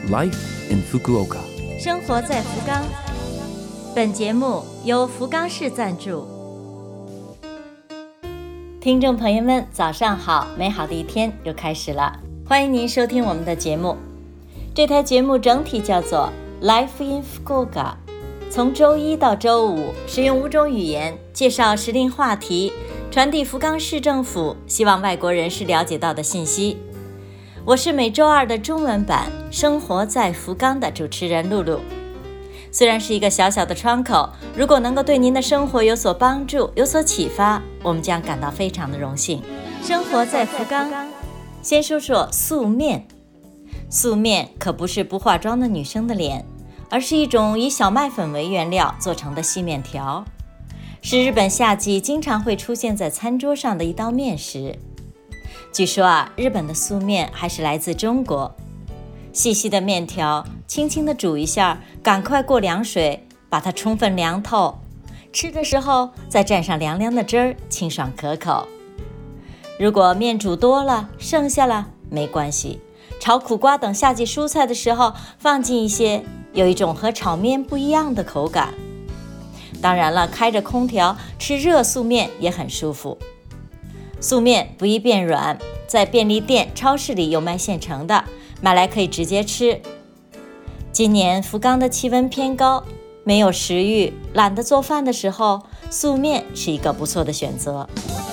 Life in Fukuoka。 生活在福冈。本节目由福冈市赞助。听众朋友们，早上好，美好的一天又开始了，欢迎您收听我们的节目。这台节目整体叫做 Life in Fukuoka， 从周一到周五，使用5种语言介绍时令话题，传递福冈市政府希望外国人士了解到的信息。我是每周二的中文版生活在福冈的主持人露露。虽然是一个小小的窗口，如果能够对您的生活有所帮助，有所启发，我们将感到非常的荣幸。生活在福冈，先说说素面。素面可不是不化妆的女生的脸，而是一种以小麦粉为原料做成的细面条，是日本夏季经常会出现在餐桌上的一道面食。据说日本的素面还是来自中国。细细的面条，轻轻地煮一下，赶快过凉水，把它充分凉透。吃的时候再蘸上凉凉的汁儿，清爽可口。如果面煮多了，剩下了没关系，炒苦瓜等夏季蔬菜的时候放进一些，有一种和炒面不一样的口感。当然了，开着空调吃热素面也很舒服。素面不易变软，在便利店、超市里有卖现成的，买来可以直接吃。今年福冈的气温偏高，没有食欲，懒得做饭的时候，素面是一个不错的选择。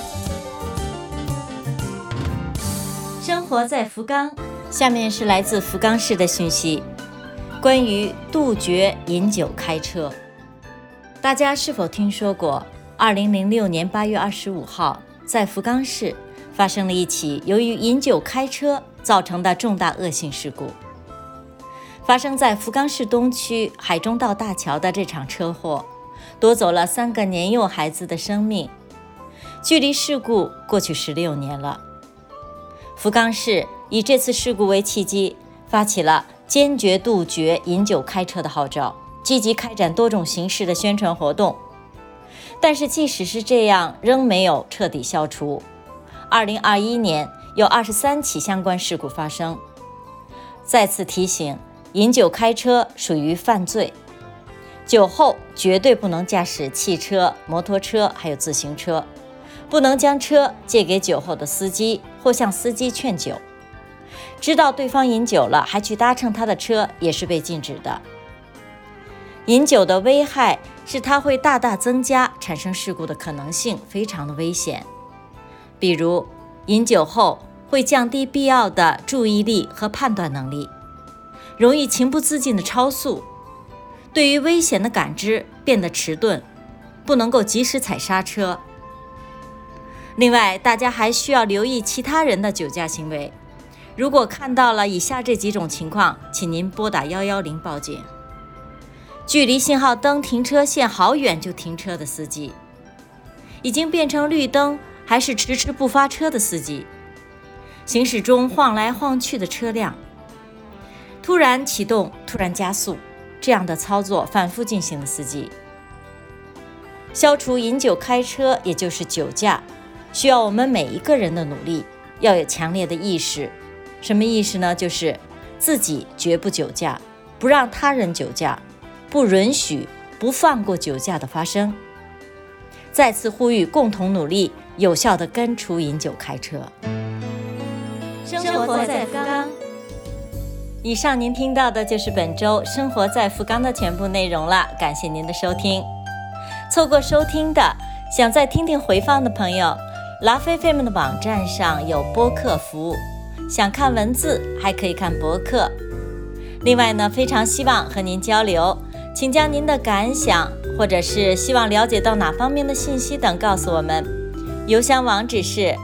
生活在福冈，下面是来自福冈市的讯息，关于杜绝饮酒开车。大家是否听说过2006年8月25号在福冈市发生了一起由于饮酒开车造成的重大恶性事故？发生在福冈市东区海中道大桥的这场车祸，夺走了3个年幼孩子的生命。距离事故过去16年了。福冈市以这次事故为契机，发起了坚决杜绝饮酒开车的号召，积极开展多种形式的宣传活动。但是即使是这样，仍没有彻底消除。2021年有23起相关事故发生。再次提醒，饮酒开车属于犯罪，酒后绝对不能驾驶汽车、摩托车还有自行车，不能将车借给酒后的司机或向司机劝酒。知道对方饮酒了还去搭乘他的车也是被禁止的。饮酒的危害是它会大大增加产生事故的可能性，非常的危险。比如饮酒后会降低必要的注意力和判断能力，容易情不自禁的超速，对于危险的感知变得迟钝，不能够及时踩刹车。另外，大家还需要留意其他人的酒驾行为。如果看到了以下这几种情况，请您拨打110报警。距离信号灯停车线好远就停车的司机，已经变成绿灯还是迟迟不发车的司机，行驶中晃来晃去的车辆，突然启动突然加速，这样的操作反复进行的司机。消除饮酒开车，也就是酒驾，需要我们每一个人的努力，要有强烈的意识。什么意识呢？就是自己绝不酒驾，不让他人酒驾，不允许不放过酒驾的发生。再次呼吁共同努力，有效地根除饮酒开车。生活在福冈。以上您听到的就是本周生活在福冈的全部内容了，感谢您的收听。错过收听的，想再听听回放的朋友， Love FM 的网站上有播客服务，想看文字还可以看博客。另外呢，非常希望和您交流，请将您的感想或者是希望了解到哪方面的信息等告诉我们。邮箱网址是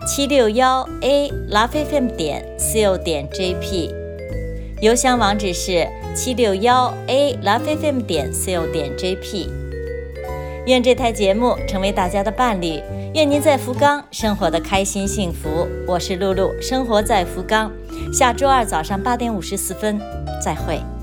761a lovefm.co.jp， 邮箱网址是761a lovefm.co.jp。 愿这台节目成为大家的伴侣，愿您在福冈生活得开心幸福。我是露露，生活在福冈，下周二早上8点54分再会。